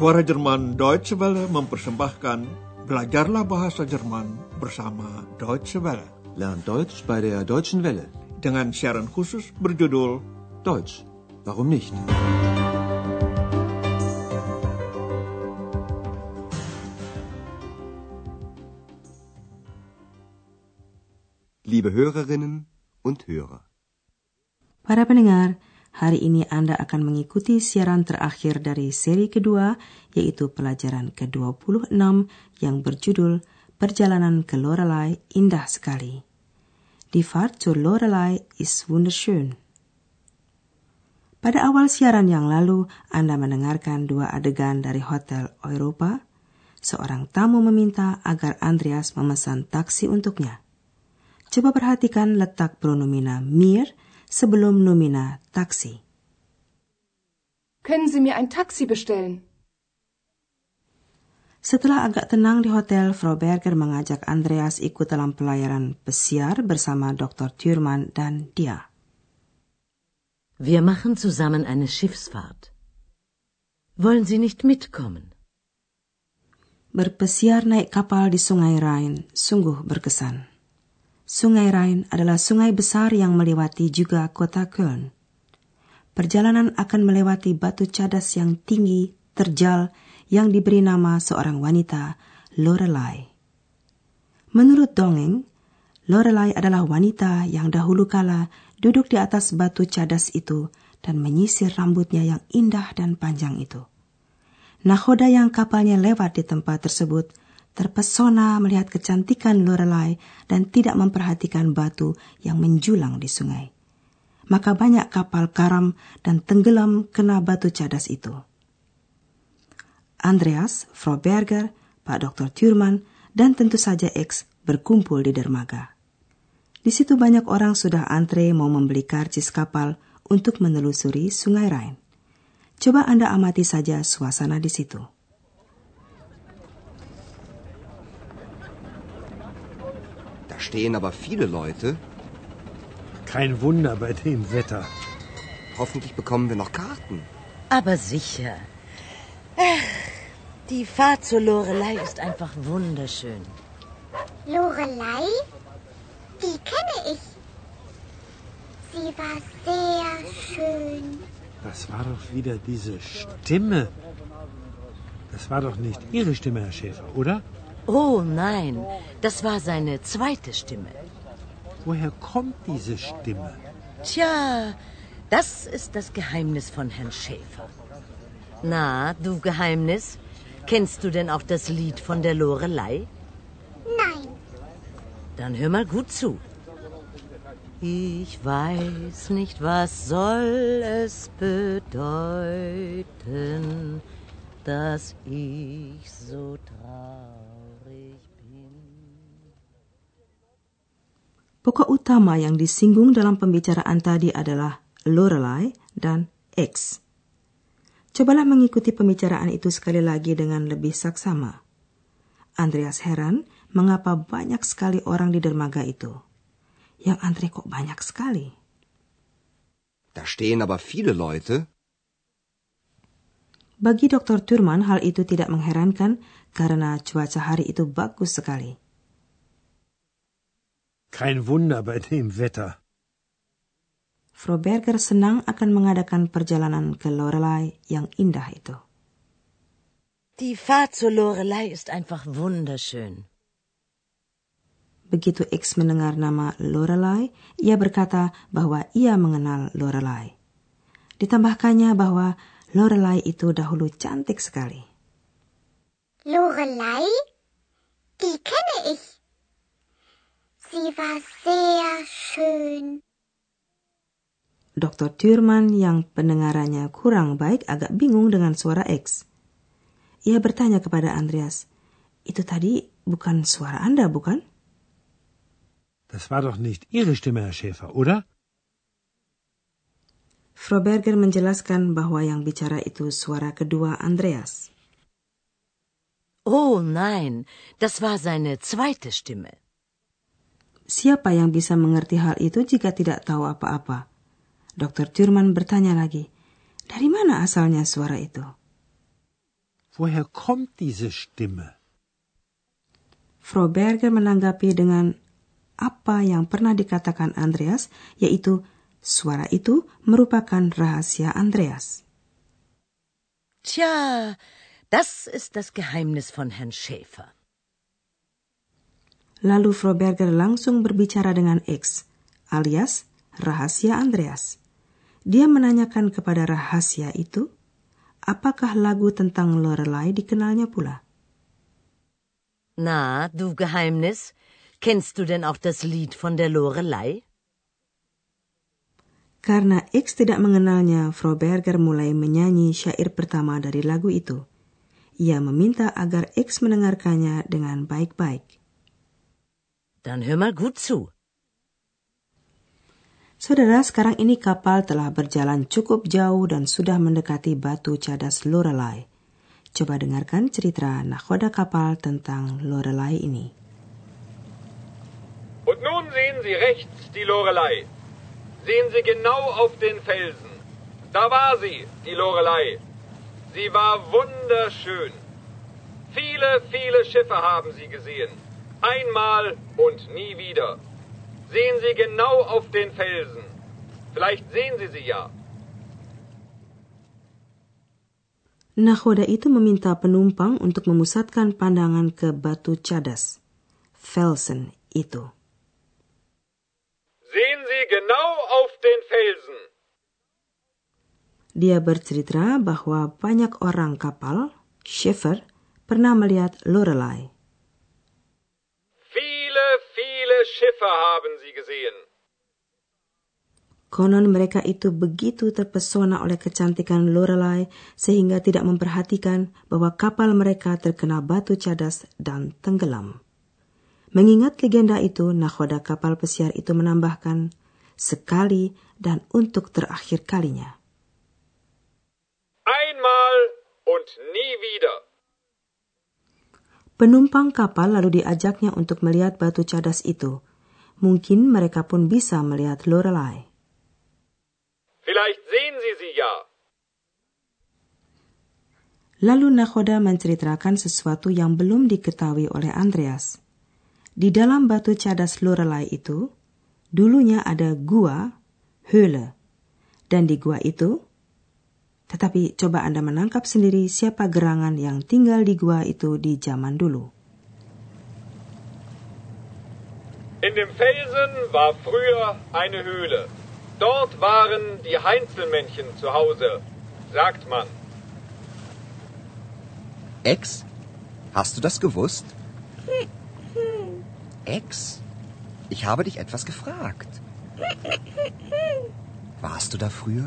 Suara Jerman Deutsche Welle mempersembahkan Belajarlah Bahasa Jerman bersama Deutsche Welle. Lern Deutsch bei der Deutschen Welle. Dengan siaran khusus berjudul Deutsch, warum nicht? Liebe Hörerinnen und Hörer. Para pendengar, hari ini Anda akan mengikuti siaran terakhir dari seri kedua, yaitu pelajaran ke-26 yang berjudul Perjalanan ke Lorelei Indah Sekali. Die Fahrt zur Lorelei ist wunderschön. Pada awal siaran yang lalu, Anda mendengarkan dua adegan dari Hotel Europa. Seorang tamu meminta agar Andreas memesan taksi untuknya. Coba perhatikan letak pronomina mir sebelum nomina taksi. Können Sie mir ein Taxi bestellen? Setelah agak tenang di hotel, Frau Berger mengajak Andreas ikut dalam pelayaran pesiar bersama Dr. Thürmann dan dia. Wir machen zusammen eine Schiffsfahrt. Wollen Sie nicht mitkommen? Berpesiar naik kapal di Sungai Rhine sungguh berkesan. Sungai Rhine adalah sungai besar yang melewati juga kota Köln. Perjalanan akan melewati batu cadas yang tinggi, terjal, yang diberi nama seorang wanita, Lorelei. Menurut dongeng, Lorelei adalah wanita yang dahulu kala duduk di atas batu cadas itu dan menyisir rambutnya yang indah dan panjang itu. Nakhoda yang kapalnya lewat di tempat tersebut terpesona melihat kecantikan Lorelei dan tidak memperhatikan batu yang menjulang di sungai. Maka banyak kapal karam dan tenggelam kena batu cadas itu. Andreas, Frau Berger, Pak Dr. Thürmann, dan tentu saja X berkumpul di dermaga. Di situ banyak orang sudah antre mau membeli karcis kapal untuk menelusuri Sungai Rhine. Coba Anda amati saja suasana di situ. Stehen aber viele Leute. Kein Wunder bei dem Wetter. Hoffentlich bekommen wir noch Karten. Aber sicher. Die Fahrt zur Lorelei ist einfach wunderschön. Lorelei? Die kenne ich. Sie war sehr schön. Das war doch wieder diese Stimme. Das war doch nicht Ihre Stimme, Herr Schäfer, oder? Oh nein, das war seine zweite Stimme. Woher kommt diese Stimme? Tja, das ist das Geheimnis von Herrn Schäfer. Na, du Geheimnis, kennst du denn auch das Lied von der Lorelei? Nein. Dann hör mal gut zu. Ich weiß nicht, was soll es bedeuten, dass ich so traurig bin. Pokok utama yang disinggung dalam pembicaraan tadi adalah Lorelei dan X. Cobalah mengikuti pembicaraan itu sekali lagi dengan lebih saksama. Andreas heran mengapa banyak sekali orang di dermaga itu. Yang antre kok banyak sekali. Da stehen aber viele Leute. Bagi Dr. Thürmann hal itu tidak mengherankan karena cuaca hari itu bagus sekali. Kein Wunder bei dem Wetter. Frau Berger senang akan mengadakan perjalanan ke Lorelei yang indah itu. Die Fahrt zur Lorelei ist einfach wunderschön. Begitu X mendengar nama Lorelei, ia berkata bahwa ia mengenal Lorelei. Ditambahkannya bahwa Lorelei itu dahulu cantik sekali. Lorelei? Die kenne ich. Sie war sehr schön. Dr. Thürmann yang pendengarannya kurang baik agak bingung dengan suara X. Ia bertanya kepada Andreas, itu tadi bukan suara Anda, bukan? Das war doch nicht Ihre Stimme, Herr Schäfer, oder? Frau Berger menjelaskan bahwa yang bicara itu suara kedua Andreas. Oh nein, das war seine zweite Stimme. Siapa yang bisa mengerti hal itu jika tidak tahu apa-apa? Dr. Thürmann bertanya lagi, dari mana asalnya suara itu? Woher kommt diese Stimme? Frau Berger menanggapi dengan apa yang pernah dikatakan Andreas, yaitu suara itu merupakan rahasia Andreas. Tja, das ist das Geheimnis von Herrn Schäfer. Lalu Frau Berger langsung berbicara dengan X, alias rahasia Andreas. Dia menanyakan kepada rahasia itu, apakah lagu tentang Lorelei dikenalnya pula? Na, du Geheimnis, kennst du denn auch das Lied von der Lorelei? Karena X tidak mengenalnya, Frau Berger mulai menyanyi syair pertama dari lagu itu. Ia meminta agar X mendengarkannya dengan baik-baik. Dann hör mal gut zu. Saudara, sekarang ini kapal telah berjalan cukup jauh dan sudah mendekati batu cadas Lorelei. Coba dengarkan cerita nakhoda kapal tentang Lorelei ini. Und nun sehen Sie rechts die Lorelei. Sehen Sie genau auf den Felsen. Da war sie, die Lorelei. Sie war wunderschön. Viele, viele Schiffe haben sie gesehen. Einmal und nie wieder. Sehen Sie genau auf den Felsen. Vielleicht sehen Sie sie ja. Nakhoda itu meminta penumpang untuk memusatkan pandangan ke batu cadas, Felsen itu. Sehen Sie genau auf den Felsen. Dia bercerita bahwa banyak orang kapal, Schiffer, pernah melihat Lorelei. Viele, viele Schiffe haben sie gesehen. Konon mereka itu begitu terpesona oleh kecantikan Lorelei sehingga tidak memperhatikan bahwa kapal mereka terkena batu cadas dan tenggelam. Mengingat legenda itu, nakhoda kapal pesiar itu menambahkan, sekali dan untuk terakhir kalinya. Einmal und nie wieder. Penumpang kapal lalu diajaknya untuk melihat batu cadas itu. Mungkin mereka pun bisa melihat Lorelei. Vielleicht sehen Sie sie ja. Lalu nakhoda menceritakan sesuatu yang belum diketahui oleh Andreas. Di dalam batu cadas Lorelei itu, dulunya ada gua, Höhle. Dan di gua itu, tetapi coba Anda menangkap sendiri siapa gerangan yang tinggal di gua itu di zaman dulu. In dem Felsen war früher eine Höhle. Dort waren die Heinzelmännchen zu Hause, sagt man. Ex, hast du das gewusst? Ex, ich habe dich etwas gefragt. Warst du da früher?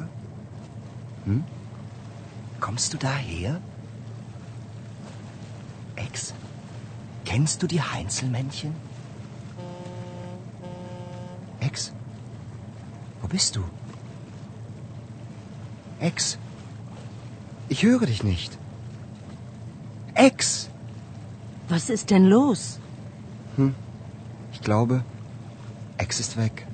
Kommst du daher? Ex, kennst du die Heinzelmännchen? Ex, wo bist du? Ex, ich höre dich nicht. Ex! Was ist denn los? Ich glaube, Ex ist weg.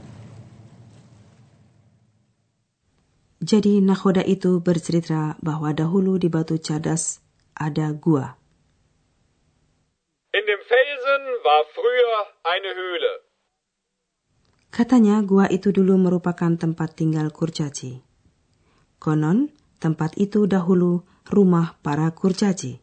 Jadi nakhoda itu bercerita bahwa dahulu di batu cadas ada gua. In dem Felsen war früher eine Höhle. Katanya gua itu dulu merupakan tempat tinggal kurcaci. Konon, tempat itu dahulu rumah para kurcaci.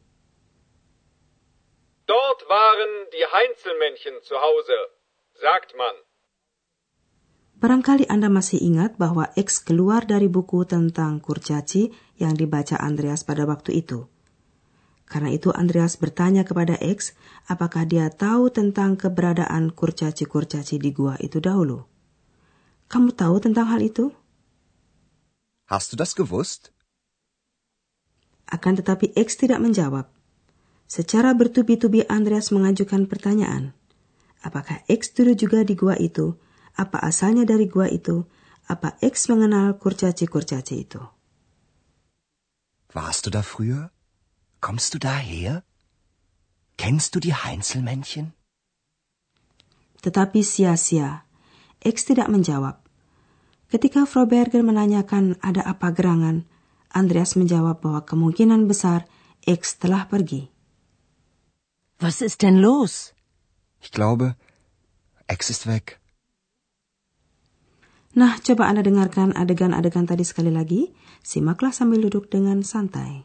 Dort waren die Heinzelmännchen zu Hause, sagt man. Barangkali Anda masih ingat bahwa X keluar dari buku tentang kurcaci yang dibaca Andreas pada waktu itu. Karena itu Andreas bertanya kepada X apakah dia tahu tentang keberadaan kurcaci-kurcaci di gua itu dahulu. Kamu tahu tentang hal itu? Hast du das gewusst? Akan tetapi X tidak menjawab. Secara bertubi-tubi Andreas mengajukan pertanyaan. Apakah X dulu juga di gua itu? Apa asalnya dari gua itu? Apa X mengenal kurcaci-kurcaci itu? Warst du da früher? Kommst du daher? Kennst du die Heinzelmännchen? Tetapi sia-sia. X tidak menjawab. Ketika Frau Berger menanyakan ada apa gerangan, Andreas menjawab bahwa kemungkinan besar X telah pergi. Was ist denn los? Ich glaube, X ist weg. Nah, coba Anda dengarkan adegan-adegan tadi sekali lagi. Simaklah sambil duduk dengan santai.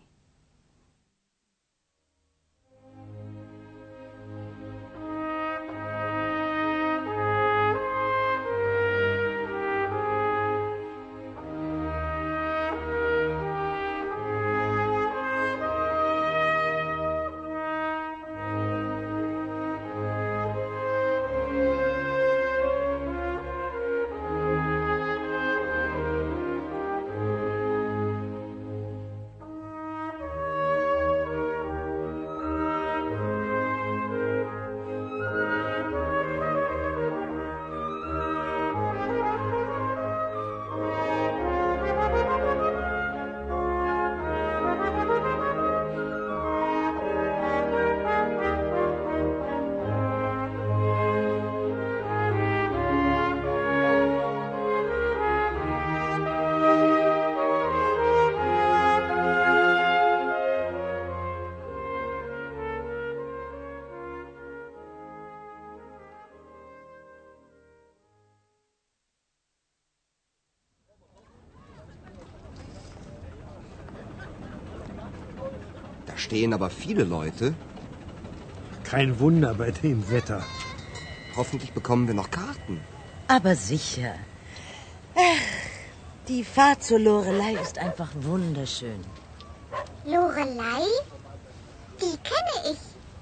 Da stehen aber viele Leute. Kein Wunder bei dem Wetter. Hoffentlich bekommen wir noch Karten. Aber sicher. Ach, die Fahrt zur Lorelei ist einfach wunderschön. Lorelei? Die kenne ich.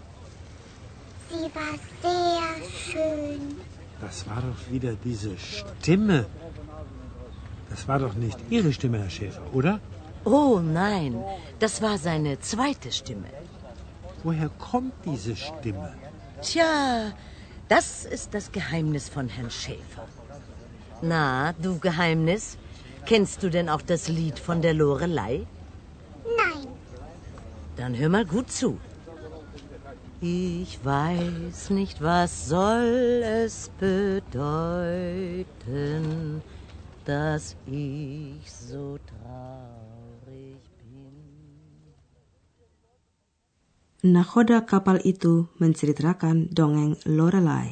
Sie war sehr schön. Das war doch wieder diese Stimme. Das war doch nicht Ihre Stimme, Herr Schäfer, oder? Oh nein, das war seine zweite Stimme. Woher kommt diese Stimme? Tja, das ist das Geheimnis von Herrn Schäfer. Na, du Geheimnis, kennst du denn auch das Lied von der Lorelei? Nein. Dann hör mal gut zu. Ich weiß nicht, was soll es bedeuten, dass ich so traurig bin. Nakhoda kapal itu menceritakan dongeng Lorelei.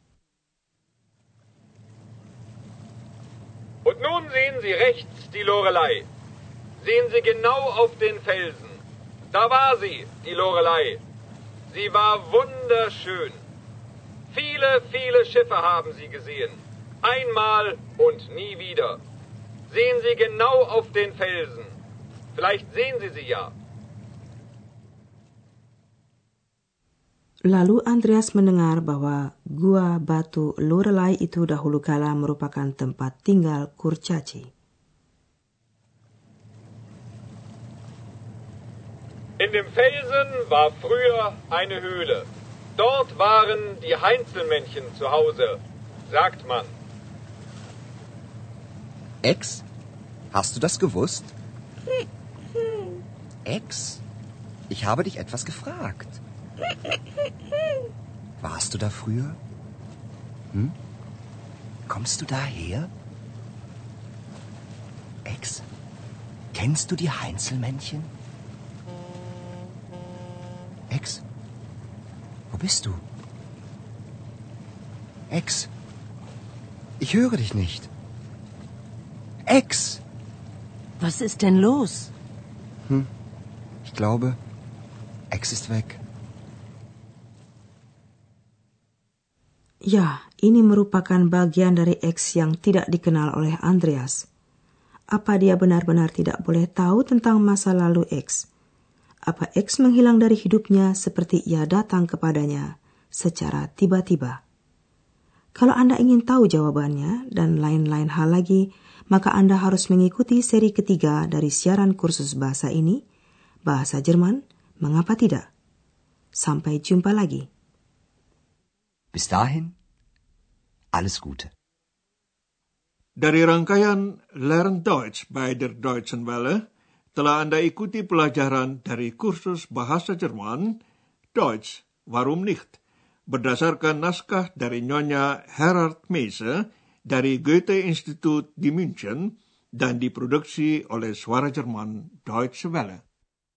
Und nun sehen Sie rechts die Lorelei. Sehen Sie genau auf den Felsen. Da war sie, die Lorelei. Sie war wunderschön. Viele, viele Schiffe haben sie gesehen. Einmal und nie wieder. Sehen Sie genau auf den Felsen. Vielleicht sehen Sie sie ja. Lalu Andreas mendengar bahwa gua batu Lorelei itu dahulu kala merupakan tempat tinggal kurcaci. In dem Felsen war früher eine Höhle. Dort waren die Heinzelmännchen zu Hause, sagt man. Ex? Hast du das gewusst? Ex? Ich habe dich etwas gefragt. Warst du da früher? Kommst du daher? Ex, kennst du die Heinzelmännchen? Ex, wo bist du? Ex, ich höre dich nicht. Ex! Was ist denn los? Ich glaube, Ex ist weg. Ya, ini merupakan bagian dari X yang tidak dikenal oleh Andreas. Apa dia benar-benar tidak boleh tahu tentang masa lalu X? Apa X menghilang dari hidupnya seperti ia datang kepadanya secara tiba-tiba? Kalau Anda ingin tahu jawabannya dan lain-lain hal lagi, maka Anda harus mengikuti seri ketiga dari siaran kursus bahasa ini, Bahasa Jerman, Mengapa Tidak? Sampai jumpa lagi. Bis dahin, alles Gute. Dari rangkaian Lern Deutsch bei der Deutschen Welle, telah Anda ikuti pelajaran dari kursus Bahasa Jerman, Deutsch, Warum nicht? Berdasarkan naskah dari Nyonya Herard Meise dari Goethe-Institut di München dan diproduksi oleh Suara Jerman Deutsche Welle.